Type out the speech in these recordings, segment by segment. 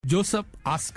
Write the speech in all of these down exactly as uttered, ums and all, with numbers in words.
Joseph ask.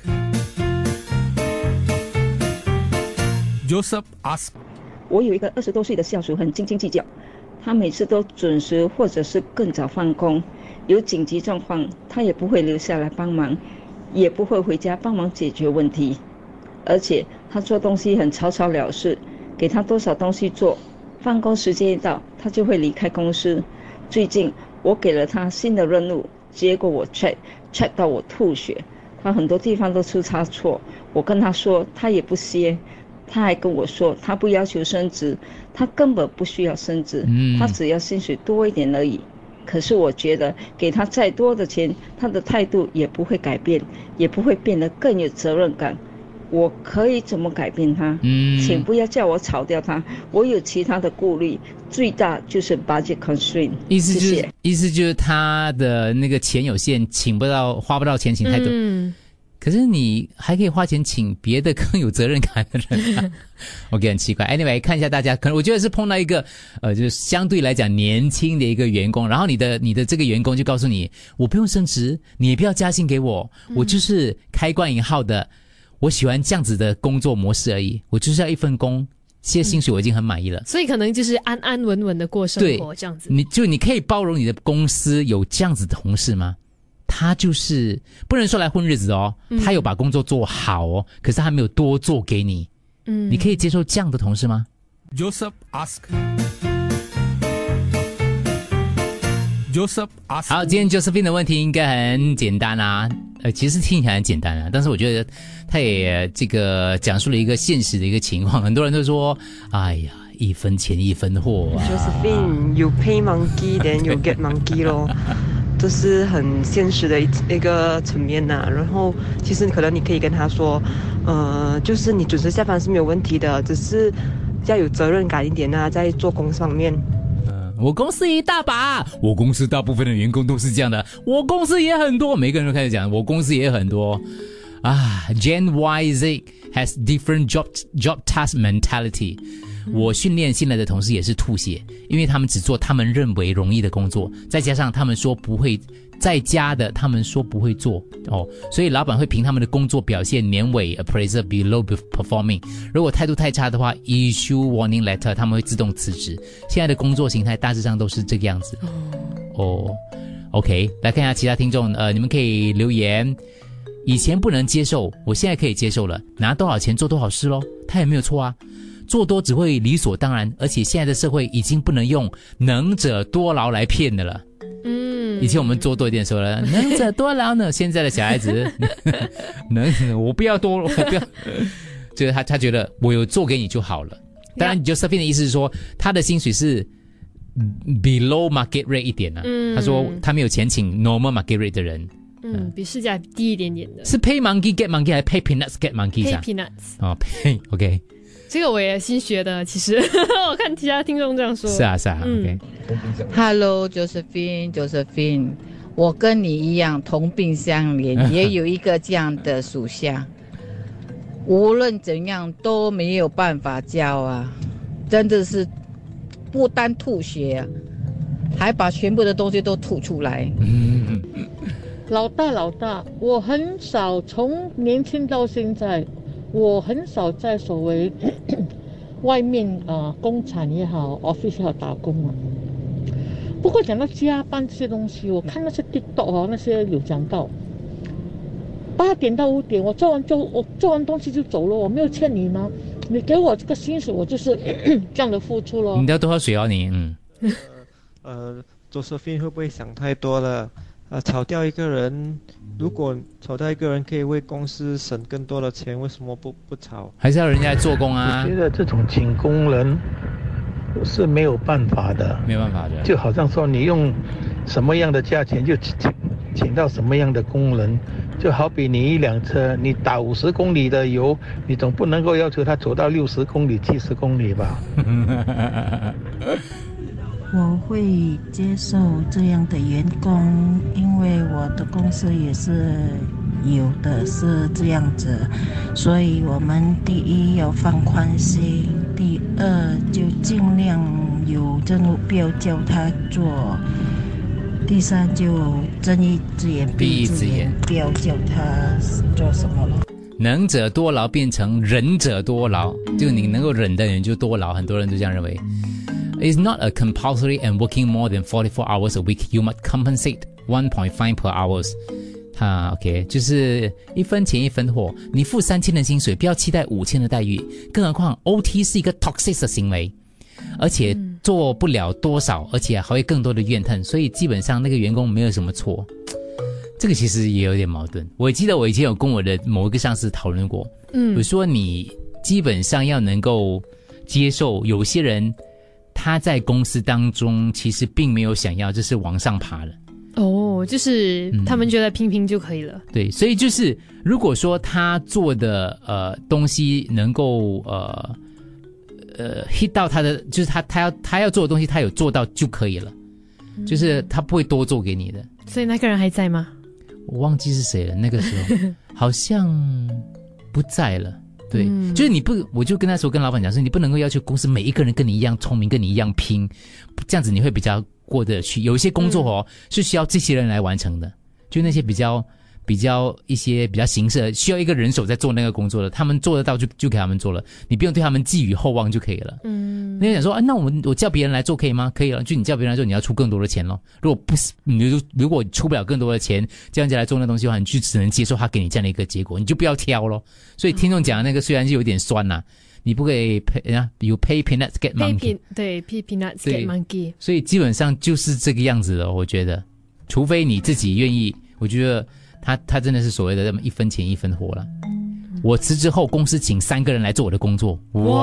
Joseph ask. 我有一个二十多岁的下属，很斤斤计较，他每次都准时或者是更早放工，有紧急状况他也不会留下来帮忙，也不会回家帮忙解决问题，而且他做东西很草草了事，给他多少东西做，放工时间一到他就会离开公司。最近我给了他新的任务，结果我 check check 到我吐血，他很多地方都出差错，我跟他说他也不歇，他还跟我说他不要求升职，他根本不需要升职，他只要薪水多一点而已。可是我觉得给他再多的钱，他的态度也不会改变，也不会变得更有责任感。我可以怎么改变他？嗯，请不要叫我炒掉他，我有其他的顾虑，最大就是 budget constraint。 意思就是， 谢谢意思就是他的那个钱有限，请不到，花不到钱，请太多。嗯，可是你还可以花钱请别的更有责任感的人、啊。OK， 很奇怪。Anyway， 看一下大家，可能我觉得是碰到一个呃，就是相对来讲年轻的一个员工，然后你的你的这个员工就告诉你，我不用升职，你也不要加薪给我，我就是开关引号的。我喜欢这样子的工作模式而已，我就是要一份工，现在薪水我已经很满意了、嗯、 所以可能就是安安稳稳的过生活这样子。 你就你可以包容你的公司有这样子的同事吗？他就是不能说来混日子哦、嗯、他有把工作做好哦，可是他没有多做给你，嗯，你可以接受这样的同事吗？ Joseph ask. Joseph ask. 好，今天 Josephine 的问题应该很简单啊，呃，其实听起来很简单啊，但是我觉得他也这个讲述了一个现实的一个情况，很多人都说，哎呀，一分钱一分货啊。 Josephine, you pay monkey, then you get monkey 咯，这是很现实的一一个层面呐、啊。然后其实可能你可以跟他说，呃，就是你准时下班是没有问题的，只是要有责任感一点啊，在做工上面。 我公司一大把，我公司大部分的员工都是这样的，我公司也很多，每个人都开始讲我公司也很多啊。Gen Y Z has different job job task mentality。我训练新来的同事也是吐血，因为他们只做他们认为容易的工作，再加上他们说不会在家的，他们说不会做哦，所以老板会凭他们的工作表现年尾 appraiser below performing， 如果态度太差的话 issue warning letter， 他们会自动辞职。现在的工作形态大致上都是这个样子哦。OK， 来看一下其他听众，呃，你们可以留言。以前不能接受，我现在可以接受了，拿多少钱做多少事咯，他也没有错啊。做多只会理所当然，而且现在的社会已经不能用能者多劳来骗的了。嗯，以前我们做多一点说了能者多劳呢，现在的小孩子能我不要多，我不要，就是他他觉得我有做给你就好了。当然 Josephine 的意思是说他的薪水是 below market rate 一点啊、嗯、他说他没有钱请 normal market rate 的人， 嗯，比市价低一点点的。 是 pay monkey get monkey 还是 pay peanuts get monkey？ pay peanuts 哦 pay OK， 这个我也新学的，其实我看其他听众这样说。 是啊是啊、嗯、OK。 Hello Josephine Josephine， 我跟你一样同病相怜，也有一个这样的属下无论怎样都没有办法教啊，真的是不单吐血啊，还把全部的东西都吐出来。 老大老大，我很少从年轻到现在，我很少在所谓外面啊、呃、工厂也好 office 也好打工啊。不过讲到加班这些东西，我看那些 TikTok 啊，那些有讲到八点到五点，我做完就我做完东西就走了，我没有欠你吗？你给我这个薪水，我就是这样的付出咯。 你要多喝水哦，你嗯。 呃 ，Josephine 会不会想太多了？呃，炒掉一个人，如果炒掉一个人可以为公司省更多的钱，为什么不不炒？ 还是要人家做工啊？ 我觉得这种请工人是没有办法的， 没有办法的。 就好像说你用什么样的价钱就请请到什么样的工人，就好比你一辆车，你打五十公里的油，你总不能够要求他走到六十公里、七十公里吧？ 我会接受这样的员工，因为我的公司也是有的是这样子，所以我们第一要放宽心，第二就尽量有任务不要叫他做第三就睁一只眼闭一只眼，不要叫他做什么了。 能者多劳变成忍者多劳，就你能够忍的人就多劳，很多人都这样认为。It's not a compulsory and working more than forty-four hours a week. You must compensate one point five per hours. 他 OK 就是一分钱一分货，你付三千的薪水，不要期待五千的待遇。更何况 O T 是一个 toxic 的行为，而且做不了多少，而且还会更多的怨恨，所以基本上那个员工没有什么错。这个其实也有点矛盾。我记得我以前有跟我的某一个上司讨论过，嗯，我说你基本上要能够接受有些人他在公司当中其实并没有想要就是往上爬的。 哦，就是他们觉得拼拼就可以了。 嗯、对，所以就是如果说他做的呃东西能够呃呃 hit 到他的，就是他他要他要做的东西他有做到就可以了，嗯、就是他不会多做给你的。 所以那个人还在吗？ 我忘记是谁了，那个时候好像不在了。对，嗯、就是你不，我就跟那时候跟老板讲说，你不能够要求公司每一个人跟你一样聪明，跟你一样拼，这样子你会比较过得去。有一些工作哦、嗯、是需要这些人来完成的，就那些比较比较一些比较形式需要一个人手在做那个工作的，他们做得到就就给他们做了，你不用对他们寄予厚望就可以了。嗯，你想说啊，那我们我叫别人来做可以吗？可以了，就你叫别人来做，你要出更多的钱咯。如果不是你如果出不了更多的钱，这样子来做那东西的话，你就只能接受他给你这样的一个结果，你就不要挑咯。所以听众讲的那个虽然是有点酸呐、啊。你不可以 pay 啊 ，you pay peanuts get monkey， 对 ，pay peanuts get monkey， 所以基本上就是这个样子的，我觉得，除非你自己愿意，我觉得他他真的是所谓的这么一分钱一分货了。我辞职后，公司请三个人来做我的工作，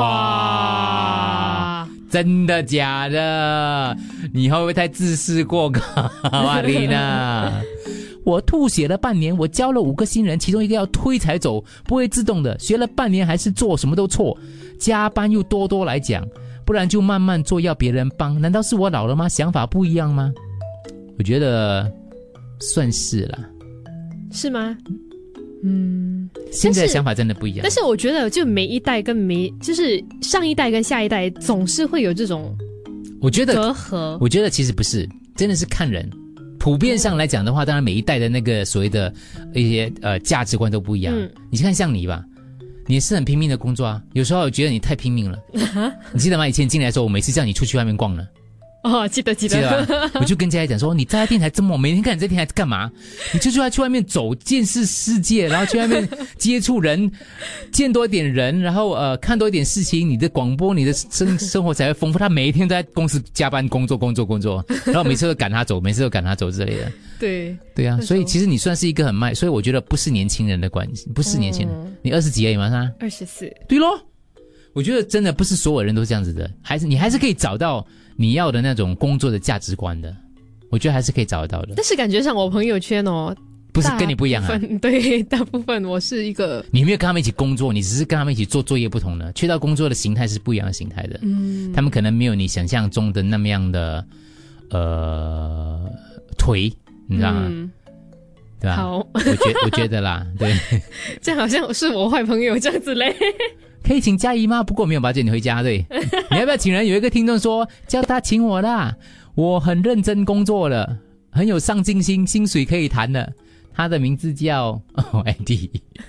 哇，真的假的？你会不会太自视过高，瓦丽娜？我吐血了半年，我教了五个新人，其中一个要推才走，不会自动的。学了半年还是做什么都错，加班又多多来讲，不然就慢慢做，要别人帮。难道是我老了吗？想法不一样吗？我觉得算是啦。 是吗？嗯， 现在的想法真的不一样。 但是我觉得，就每一代跟每就是上一代跟下一代，总是会有这种我觉得隔阂。 我觉得其实不是，真的是看人。普遍上来讲的话，当然每一代的那个所谓的一些呃价值观都不一样。嗯、你看像你吧，你也是很拼命的工作啊，有时候我觉得你太拼命了。你记得吗？以前进来的时候，我每次叫你出去外面逛呢。 哦，记得记得， 记得吧？我就跟佳佳讲说，你在电台这么，每天看你在电台干嘛？你就出来去外面走，见识世界，然后去外面接触人，见多一点人，然后呃看多一点事情，你的广播，你的生生活才会丰富。他每一天都在公司加班工作工作工作，然后每次都赶他走，每次都赶他走之类的。 对对啊，所以其实你算是一个很慢，所以我觉得不是年轻人的关系，不是年轻人，嗯、你二十几而已吗？是吧？ 二十四。 对咯，我觉得真的不是所有人都这样子的，还是你还是可以找到你要的那种工作的价值观的，我觉得还是可以找得到的。 但是感觉上我朋友圈哦， 不是跟你不一样啊。 对，大部分我是一个， 你没有跟他们一起工作，你只是跟他们一起做作业不同的，去到工作的形态是不一样的形态的。嗯，他们可能没有你想象中的那么样的呃颓，你知道吗？嗯，对吧？ 好， 我觉我觉得啦，对， 这样好像是我坏朋友这样子嘞。 可以请佳怡吗？不过没有把接你回家，对。你要不要请人？有一个听众说叫他请我啦，我很认真工作了，很有上进心，薪水可以谈的。他的名字叫哦艾迪，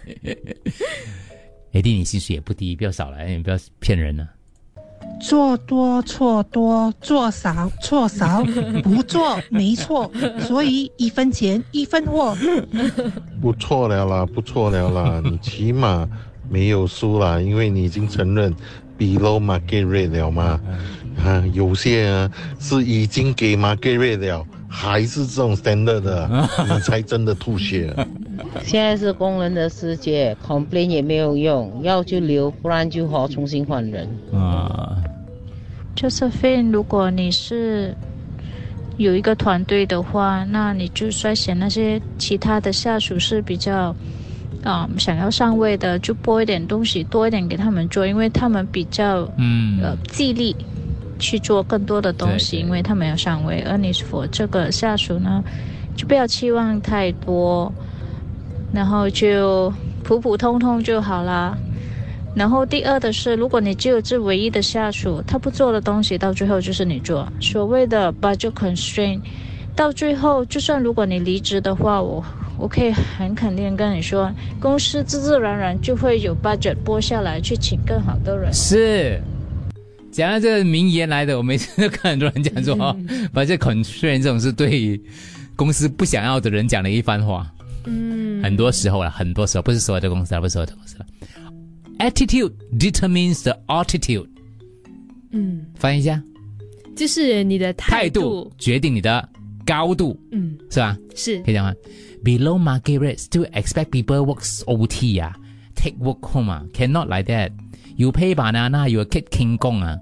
艾迪你薪水也不低，不要少来，你不要骗人了。 做多错多，做少错少，不做没错，所以一分钱一分货。 不错了啦，不错了啦，你起码没有输啦，因为你已经承认 below market rate 了嘛。啊，有些啊是已经给 market rate 了，还是这种 standard 的，你才真的吐血。 现在是工人的世界 ，complain 也没有用，要就留，不然就好重新换人。 啊 ，Josephine， 如果你是有一个团队的话，那你就率先那些其他的下属是比较。嗯，想要上位的就拨一点东西多一点给他们做，因为他们比较嗯呃尽力去做更多的东西，因为他们要上位。而你for这个下属呢，就不要期望太多，然后就普普通通就好啦。然后第二的是，如果你只有这唯一的下属，他不做的东西，到最后就是你做。所谓的 budget constraint， 到最后，就算如果你离职的话，我我可以很肯定跟你说，公司自自然然就会有 budget 拨下来去请更好的人。 是。讲到这个名言来的，我每次都看很多人讲说，嗯、把这 constraint 这种是对公司不想要的人讲的一番话。嗯，很多时候啦，很多时候不是所有的公司啦，不是所有的公司啦。Attitude determines the altitude。嗯，翻译一下， 就是你的态度, 态度决定你的高度。嗯，是吧？ 是， 可以讲吗 ？Below market rate, still expect people works O T 啊 ，take work home 啊 ，cannot like that。You pay banana, you get king kong 啊。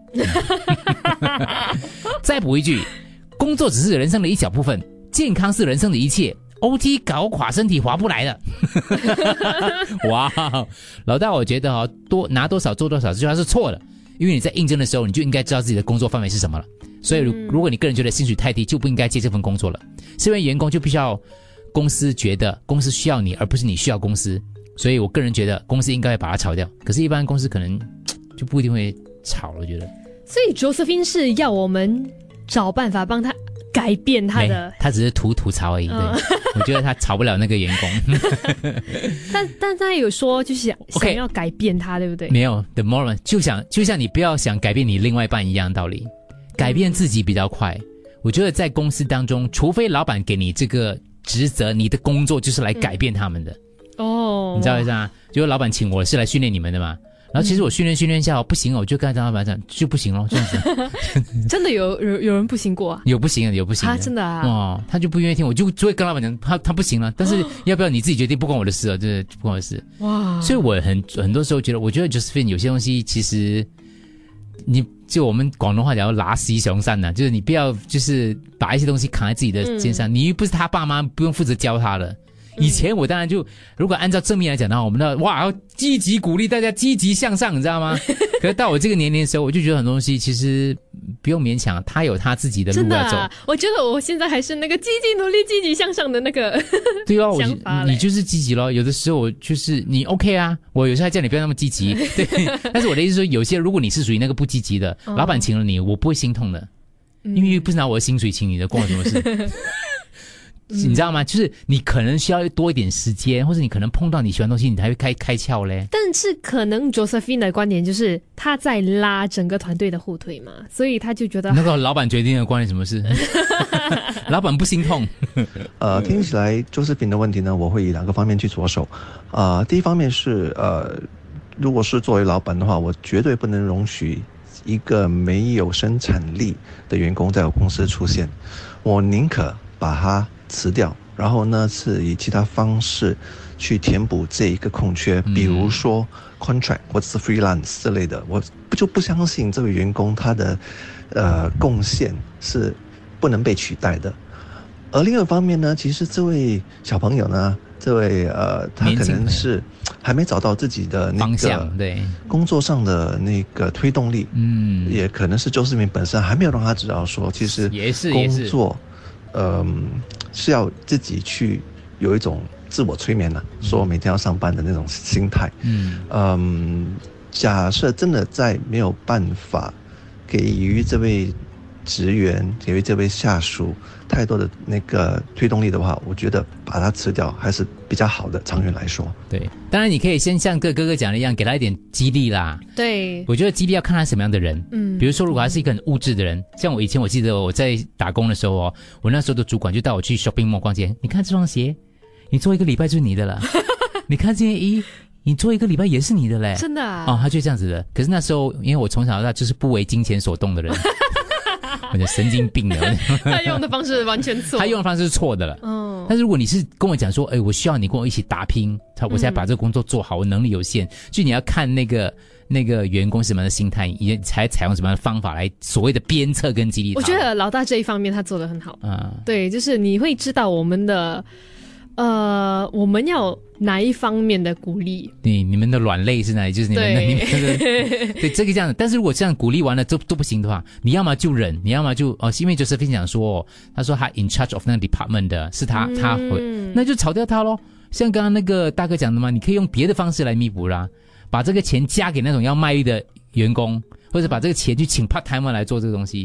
再补一句，工作只是人生的一小部分，健康是人生的一切。O T 搞垮身体划不来的。哇，老大，我觉得哦，多拿多少做多少，这句话是错的，因为你在应征的时候，你就应该知道自己的工作范围是什么了。所以如，如果你个人觉得薪水太低，就不应该接这份工作了。身为员工，就必须要公司觉得公司需要你，而不是你需要公司。所以我个人觉得公司应该会把它炒掉，可是一般公司可能就不一定会炒了，我觉得。 所以 Josephine 是要我们找办法帮他改变他的， 他只是吐吐槽而已。对，嗯、我觉得他炒不了那个员工。 但但他有说就是想、okay, 想要改变他，对不对？ 没有 ，the more 就想就像你不要想改变你另外一半一样道理，改变自己比较快。嗯、我觉得在公司当中，除非老板给你这个职责，你的工作就是来改变他们的。嗯哦，你知道为啥？就是老板请我是来训练你们的嘛。然后其实我训练训练下不行，我就跟老板讲就不行咯，这样子。 真的有有有人不行过啊？ 有不行的，有不行的。 啊，真的啊？ 哦，他就不愿意听，我就就会跟老板讲，他他不行了。但是要不要你自己决定，不关我的事了，对，不关我的事。哇！所以我很很多时候觉得，我觉得 Josephine 有些东西其实你就我们广东话讲拿西雄善呐，就是你不要就是把一些东西扛在自己的肩上，嗯、你又不是他爸妈，不用负责教他了。以前我当然就，如果按照正面来讲的话，我们的哇，要积极鼓励大家积极向上，你知道吗？可是到我这个年龄的时候，我就觉得很多东西其实不用勉强，他有他自己的路要走。真的啊， 我觉得我现在还是那个积极努力、积极向上的那个对啊，想法嘞。你就是积极咯。有的时候我就是你 OK 啊，我有时候还叫你不要那么积极，对。但是我的意思说，有些如果你是属于那个不积极的，哦、老板请了你，我不会心痛的，因为不是拿我的薪水请你的，关我什么事？你知道吗？就是你可能需要多一点时间，或者你可能碰到你喜欢的东西，你才会开开窍嘞。 但是可能 Josephine 的观点就是他在拉整个团队的后腿嘛，所以他就觉得那个老板决定的关你什么事？老板不心痛。 呃，听起来 Josephine 的问题呢，我会以两个方面去着手。呃，第一方面是呃，如果是作为老板的话，我绝对不能容许一个没有生产力的员工在我公司出现，我宁可把他辞掉，然后呢是以其他方式去填补这一个空缺，比如说 contract 或者是 freelance 之类的，我不就不相信这位员工他的呃贡献是不能被取代的。而另一方面呢，其实这位小朋友呢，这位呃他可能是还没找到自己的那个对工作上的那个推动力，嗯，也可能是周世明本身还没有让他知道说，其实工作嗯，是要自己去有一种自我催眠了、啊，嗯、说每天要上班的那种心态。嗯嗯，假设真的在没有办法给予这位职员、给予这位下属太多的那个推动力的话，我觉得把它辞掉还是比较好的，长远来说。 对，当然你可以先像哥哥哥讲的一样，给他一点激励啦。 对， 我觉得激励要看他什么样的人。嗯，比如说如果他是一个很物质的人，像我以前我记得我在打工的时候哦，我那时候的主管就带我去 shopping mall 逛街，你看这双鞋，你做一个礼拜就是你的了。你看这件衣，你做一个礼拜也是你的嘞。 真的啊？ 哦，他就这样子的。可是那时候因为我从小到大就是不为金钱所动的人。我就神经病的。 他用的方式完全错， 他用的方式是错的了。嗯，但是如果你是跟我讲说，哎，我需要你跟我一起打拼，我才把这个工作做好，我能力有限，就你要看那个那个员工什么样的心态，也才采用什么样的方法来所谓的鞭策跟激励他。 我觉得老大这一方面他做得很好。啊，对，就是你会知道我们的。呃，我们要哪一方面的鼓励？ 对，你们的软肋是哪里？就是你们的，你们的对这个这样的。但是如果这样鼓励完了都都不行的话，你要么就忍，你要么就哦，因为就是分享说，他说他 in charge of 那个 department 的是他，嗯、他会，那就炒掉他咯。像刚刚那个大哥讲的嘛，你可以用别的方式来弥补啦，把这个钱加给那种要卖力的员工，或者把这个钱去请 part timer 来做这个东西。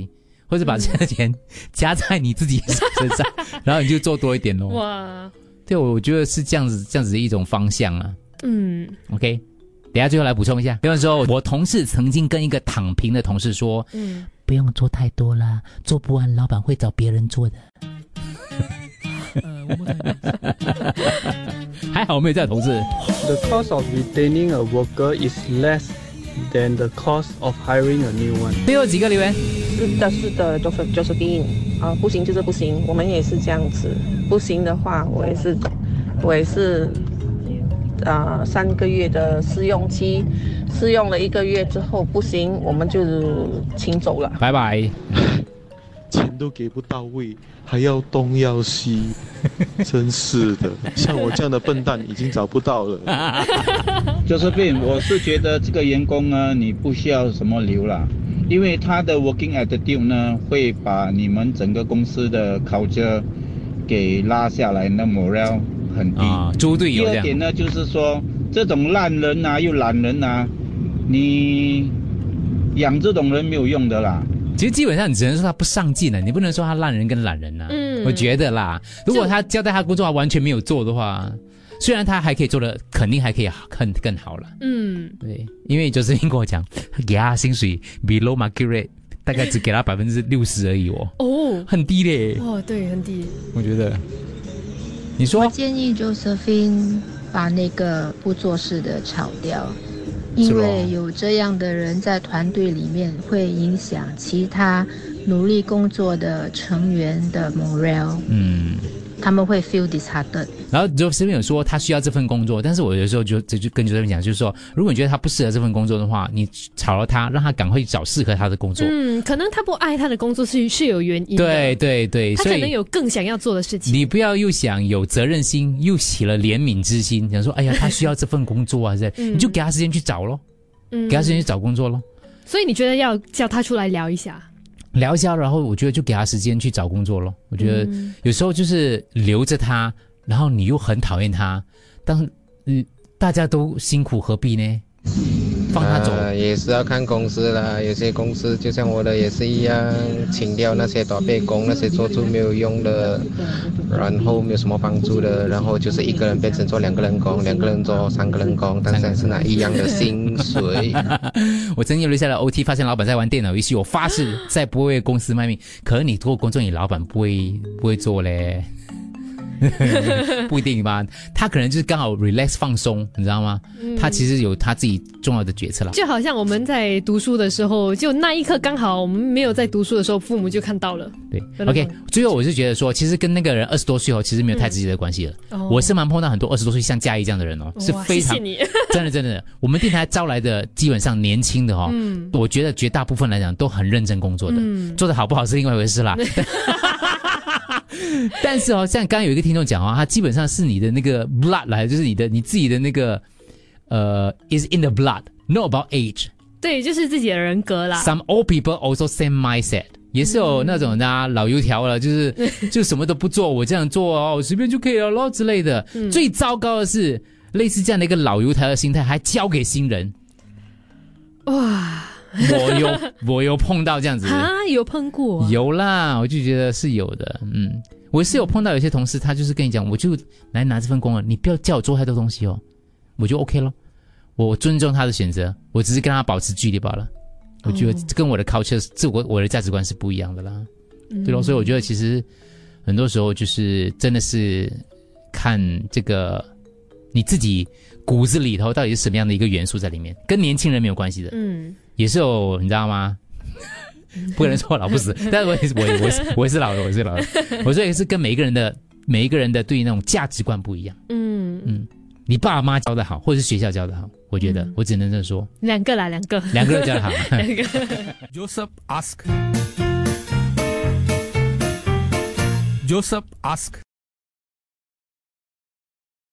或者把这个钱加在你自己身上，然后你就做多一点咯。 哇， 对，我觉得是这样子，这样子的一种方向啊。 嗯 ，OK， 等一下最后来补充一下。比方说，我同事曾经跟一个躺平的同事说， 嗯， 不用做太多啦，做不完老板会找别人做的。还好我没有这样的同事。 The cost of retaining a worker is less than the cost of hiring a new one。 最后几个留言。 是的，是的 ，Joseph Josephine， 啊、呃，不行就是不行，我们也是这样子。不行的话，我也是，我也是，啊、呃，三个月的试用期，试用了一个月之后不行，我们就请走了。 拜拜。 钱都给不到位，还要东要西，真是的。像我这样的笨蛋已经找不到了。 Josephine， 我是觉得这个员工呢，你不需要什么留啦，因为他的 working attitude 呢，会把你们整个公司的 culture 给拉下来，那 morale 很低。 啊，猪队友这样。 第二点呢，就是说这种烂人啊，又懒人啊，你养这种人没有用的啦。 其实基本上你只能说他不上进了，你不能说他烂人跟懒人呐、啊。嗯，我觉得啦，如果他交代他工作他完全没有做的话，虽然他还可以做的，肯定还可以更更好了。 嗯， 对，因为就是跟我讲，给他薪水 below market rate， 大概只给他百分之六十而已哦。 哦， 很低嘞。 哦，对，很低。 我觉得，你说， 我建议 Josephine 把那个不做事的炒掉。因为有这样的人在团队里面，会影响其他努力工作的成员的 morale。嗯，他们会 feel disheartened。 然后 Josephine 有说他需要这份工作，但是我有时候就就就跟 Josephine 讲，就是说，如果你觉得他不适合这份工作的话，你炒了他，让他赶快去找适合他的工作。 嗯，可能他不爱他的工作是是有原因的。 对对对， 他可能有更想要做的事情。 你不要又想有责任心，又起了怜悯之心，想说，哎呀，他需要这份工作啊，是、嗯、你就给他时间去找咯。嗯，给他时间去找工作咯。 所以你觉得要叫他出来聊一下？ 聊一下，然后我觉得就给他时间去找工作咯。我觉得有时候就是留着他，然后你又很讨厌他，当嗯大家都辛苦何必呢？放他走、 呃、也是要看公司啦，有些公司就像我的也是一样，请掉那些短背工，那些做出没有用的，然后没有什么帮助的，然后就是一个人变成做两个人工，两个人做三个人工，但是是拿一样的薪水。 我曾经留下了 O T， 发现老板在玩电脑游戏，我发誓再不会为公司卖命。可是你做工作，你老板不会不会做嘞。不一定吧，他可能就是刚好 relax 放松，你知道吗、嗯、他其实有他自己重要的决策啦。 就好像我们在读书的时候，就那一刻刚好我们没有在读书的时候，父母就看到了。 对 OK， 最后我是觉得说，其实跟那个人二十多岁后其实没有太直接的关系了、嗯哦、我是蛮碰到很多二十多岁像嘉怡这样的人哦，是非常谢谢你真的真的我们电台招来的基本上年轻的哦、嗯、我觉得绝大部分来讲都很认真工作的、嗯、做得好不好是另外一回事啦但是哦，像刚刚有一个听众讲哦，他基本上是你的那个 blood 来，就是你的你自己的那个呃 is in the blood, not about age。 对，就是自己的人格啦。 Some old people also same mindset， 也是有那种啊、嗯、老油条了，就是就什么都不做，我这样做哦，我随便就可以了咯之类的、嗯。最糟糕的是，类似这样的一个老油条的心态，还交给新人。 哇！ 我有我有碰到这样子啊，有碰过、啊、 有啦，我就觉得是有的。嗯，我是有碰到有些同事，他就是跟你讲，我就来拿这份工了，你不要叫我做太多东西哦，我就 OK 咯。我尊重他的选择，我只是跟他保持距离罢了。我觉得跟我的 culture 自我我的价值观是不一样的啦，嗯、对咯。所以我觉得其实很多时候就是真的是看这个你自己骨子里头到底是什么样的一个元素在里面，跟年轻人没有关系的。嗯。也是有，你知道吗？不可能说我老不死，但是我也是我我也是我也是老的，我也是老的。我说也是跟每一个人的每一个人的对于那种价值观不一样。嗯嗯，你爸妈教的好，或者是学校教的好，我觉得、嗯、我只能这么说。 两个啦，两个， 两个都教的好。 两个。 Joseph ask. Joseph ask.